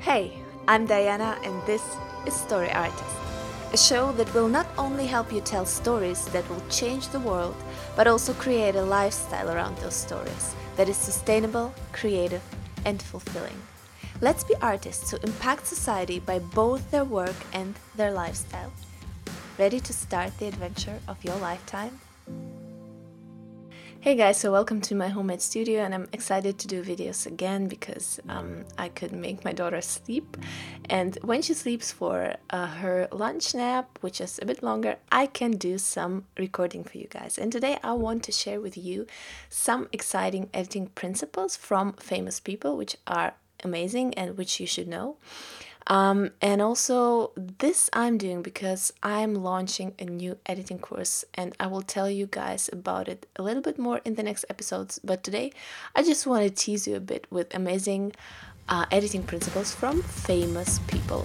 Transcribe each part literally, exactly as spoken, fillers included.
Hey, I'm Diana and this is Story Artist, a show that will not only help you tell stories that will change the world, but also create a lifestyle around those stories that is sustainable, creative, and fulfilling. Let's be artists who impact society by both their work and their lifestyle. Ready to start the adventure of your lifetime? Hey guys, so welcome to my homemade studio, and I'm excited to do videos again because um, I could make my daughter sleep, and when she sleeps for uh, her lunch nap, which is a bit longer, I can do some recording for you guys. And today I want to share with you some exciting editing principles from famous people, which are amazing and which you should know. Um, and also this I'm doing because I'm launching a new editing course, and I will tell you guys about it a little bit more in the next episodes. But today I just want to tease you a bit with amazing uh, editing principles from famous people.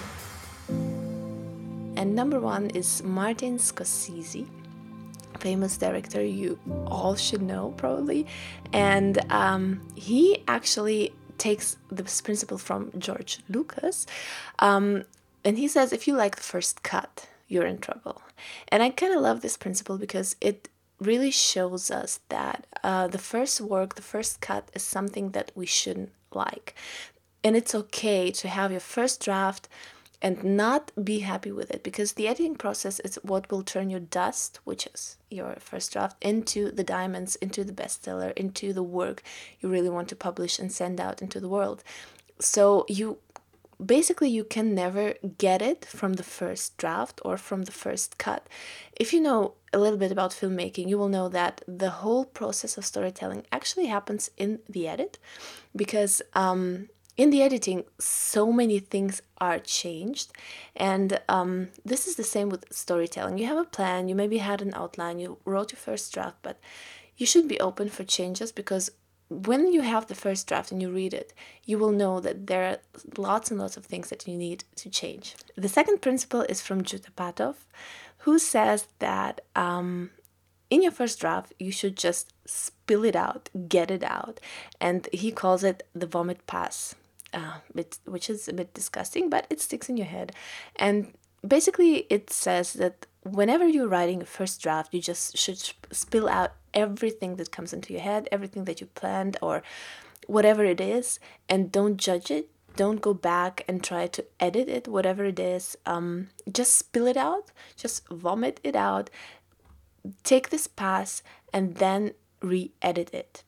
And number one is Martin Scorsese, famous director you all should know probably, and um, he actually takes this principle from George Lucas, um, and he says if you like the first cut, you're in trouble. And I kind of love this principle because it really shows us that uh, the first work, the first cut is something that we shouldn't like, and it's okay to have your first draft and not be happy with it, because the editing process is what will turn your dust, which is your first draft, into the diamonds, into the bestseller, into the work you really want to publish and send out into the world. So you basically you can never get it from the first draft or from the first cut. If you know a little bit about filmmaking, you will know that the whole process of storytelling actually happens in the edit, because um in the editing, so many things are changed, and um, this is the same with storytelling. You have a plan, you maybe had an outline, you wrote your first draft, but you should be open for changes, because when you have the first draft and you read it, you will know that there are lots and lots of things that you need to change. The second principle is from Jutta Patoff, who says that um, in your first draft, you should just spill it out, get it out, and he calls it the vomit pass. Uh, bit, which is a bit disgusting, but it sticks in your head. And basically it says that whenever you're writing a first draft, you just should spill out everything that comes into your head, everything that you planned or whatever it is, and don't judge it. Don't go back and try to edit it, whatever it is. Um, just spill it out, just vomit it out, take this pass, and then re-edit it.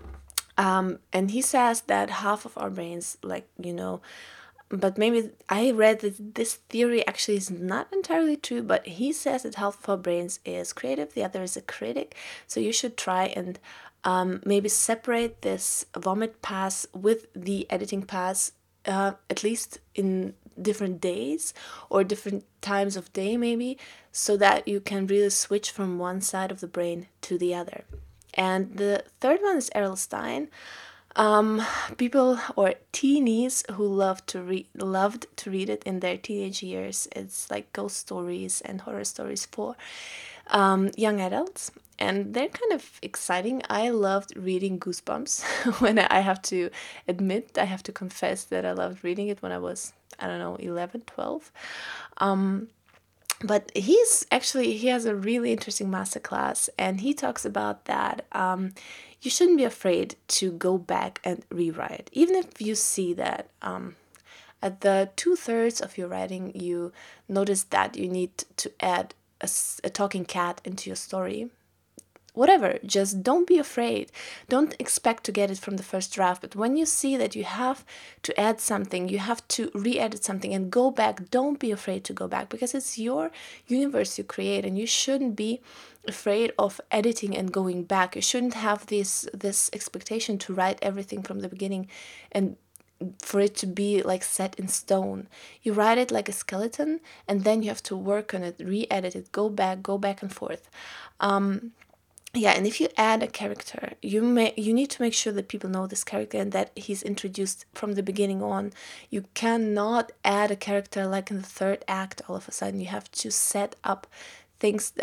Um, and he says that half of our brains, like, you know, but maybe I read that this theory actually is not entirely true, but he says that half of our brains is creative, the other is a critic. So you should try and um, maybe separate this vomit pass with the editing pass, uh, at least in different days or different times of day maybe, so that you can really switch from one side of the brain to the other. And the third one is Errol Stein. Um, people or teenies who love to read loved to read it in their teenage years. It's like ghost stories and horror stories for um, young adults, and they're kind of exciting. I loved reading Goosebumps when I have to admit, I have to confess that I loved reading it when I was, I don't know, eleven, twelve. Um, But he's actually, he has a really interesting masterclass, and he talks about that um, you shouldn't be afraid to go back and rewrite. Even if you see that um, at the two-thirds of your writing, you notice that you need to add a, a talking cat into your story. Whatever, just don't be afraid. Don't expect to get it from the first draft. But when you see that you have to add something, you have to re-edit something and go back, don't be afraid to go back, because it's your universe you create, and you shouldn't be afraid of editing and going back. You shouldn't have this this expectation to write everything from the beginning and for it to be like set in stone. You write it like a skeleton, and then you have to work on it, re-edit it, go back, go back and forth. Um, Yeah, and if you add a character, you may you need to make sure that people know this character and that he's introduced from the beginning on. You cannot add a character like in the third act all of a sudden. You have to set up things that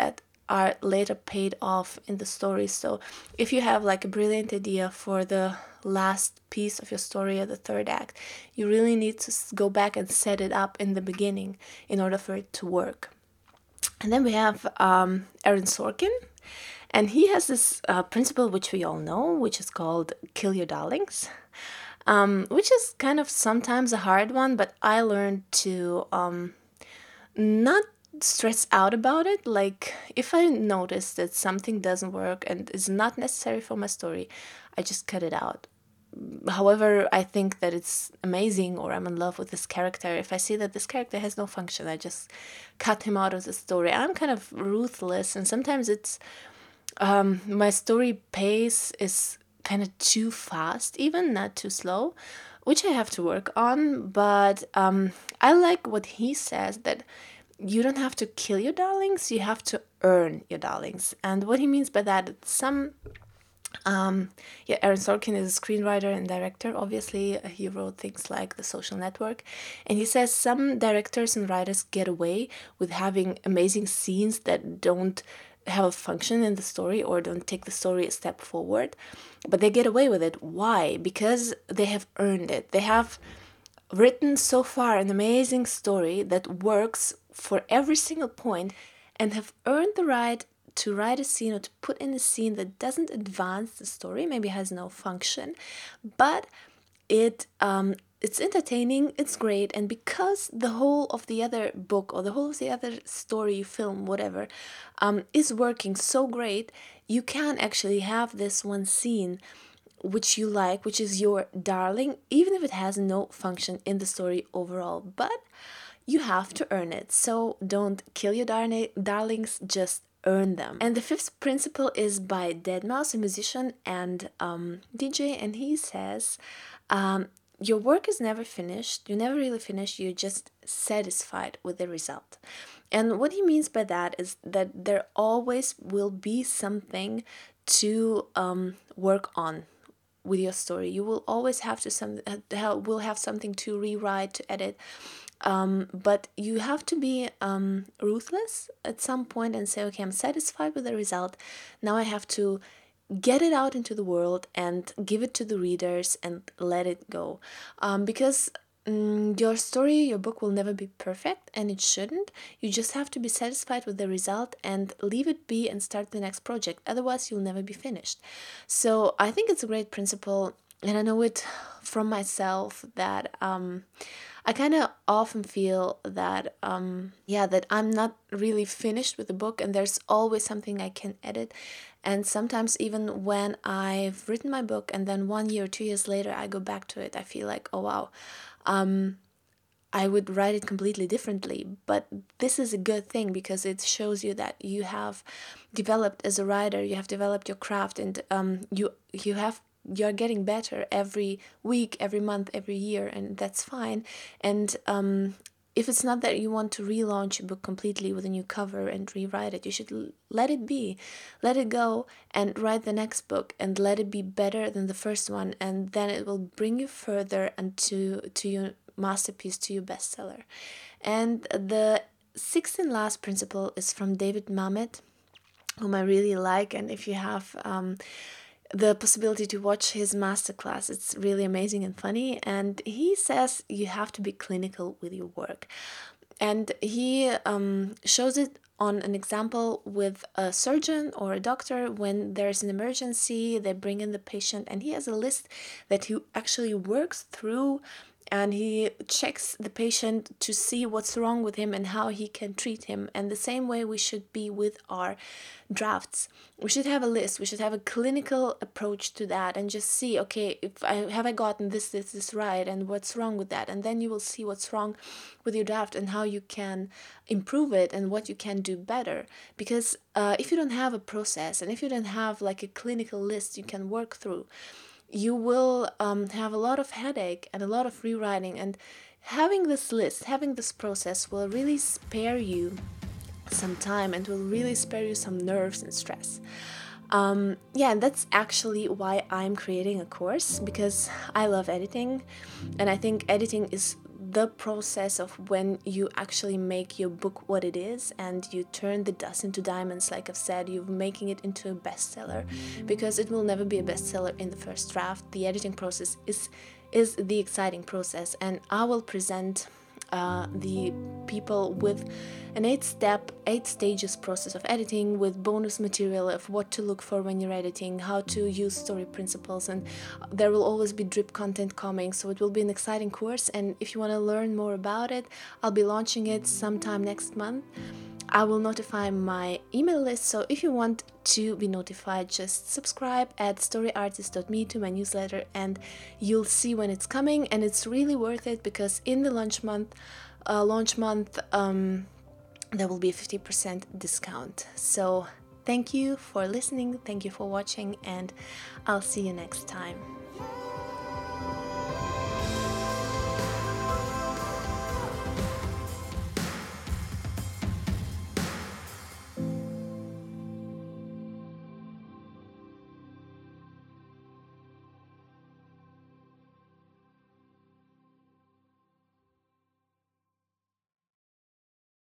are later paid off in the story. So if you have like a brilliant idea for the last piece of your story or the third act, you really need to go back and set it up in the beginning in order for it to work. And then we have um, Aaron Sorkin, and he has this uh, principle which we all know, which is called kill your darlings, um, which is kind of sometimes a hard one, but I learned to um, not stress out about it. Like if I notice that something doesn't work and is not necessary for my story, I just cut it out. However, I think that it's amazing or I'm in love with this character, if I see that this character has no function, I just cut him out of the story. I'm kind of ruthless, and sometimes it's um, my story pace is kind of too fast, even not too slow, which I have to work on. But um, I like what he says, that you don't have to kill your darlings, you have to earn your darlings. And what he means by that, some Um, yeah, Aaron Sorkin is a screenwriter and director. Obviously, uh, he wrote things like The Social Network. And he says some directors and writers get away with having amazing scenes that don't have a function in the story or don't take the story a step forward. But they get away with it. Why? Because they have earned it. They have written so far an amazing story that works for every single point and have earned the right to write a scene or to put in a scene that doesn't advance the story, maybe has no function, but it um, it's entertaining, it's great, and because the whole of the other book or the whole of the other story, film, whatever, um, is working so great, you can actually have this one scene which you like, which is your darling, even if it has no function in the story overall, but you have to earn it. So don't kill your dar- darlings, just earn them. And the fifth principle is by deadmau five, a musician and um, D J, and he says, um, your work is never finished, you're never really finished, you're just satisfied with the result. And what he means by that is that there always will be something to um, work on with your story. You will always have to some uh, will have something to rewrite, to edit. Um, but you have to be um, ruthless at some point and say, okay, I'm satisfied with the result. Now I have to get it out into the world and give it to the readers and let it go. Um, because um, your story, your book will never be perfect, and it shouldn't. You just have to be satisfied with the result and leave it be and start the next project. Otherwise, you'll never be finished. So I think it's a great principle, and I know it from myself that um, I kind of often feel that, um, yeah, that I'm not really finished with the book and there's always something I can edit. And sometimes even when I've written my book and then one year, two years later, I go back to it, I feel like, oh, wow, um, I would write it completely differently. But this is a good thing because it shows you that you have developed as a writer, you have developed your craft, and um, you you have you're getting better every week, every month, every year, and that's fine. And um, if it's not that you want to relaunch a book completely with a new cover and rewrite it, you should l- let it be, let it go, and write the next book and let it be better than the first one, and then it will bring you further and to to your masterpiece, to your bestseller. And the sixth and last principle is from David Mamet, whom I really like, and if you have um, the possibility to watch his masterclass, it's really amazing and funny. And he says you have to be clinical with your work, and he um, shows it on an example with a surgeon or a doctor. When there's an emergency, they bring in the patient, and he has a list that he actually works through, and he checks the patient to see what's wrong with him and how he can treat him. And the same way we should be with our drafts. We should have a list. We should have a clinical approach to that and just see, okay, if I have I gotten this, this, this right, and what's wrong with that. And then you will see what's wrong with your draft and how you can improve it and what you can do better. Because uh, if you don't have a process and if you don't have like a clinical list you can work through, you will um, have a lot of headache and a lot of rewriting. And having this list, having this process will really spare you some time and will really spare you some nerves and stress. Um, yeah, and that's actually why I'm creating a course, because I love editing, and I think editing is the process of when you actually make your book what it is and you turn the dust into diamonds, like I've said, you're making it into a bestseller, because it will never be a bestseller in the first draft. The editing process is is the exciting process, and I will present uh, the people with an eight-step, eight stages process of editing, with bonus material of what to look for when you're editing, how to use story principles, and there will always be drip content coming, so it will be an exciting course. And if you want to learn more about it, I'll be launching it sometime next month. I will notify my email list, so if you want to be notified, just subscribe at story artist dot me to my newsletter and you'll see when it's coming. And it's really worth it, because in the launch month, uh, launch month, um, there will be a fifty percent discount. So thank you for listening, thank you for watching, and I'll see you next time.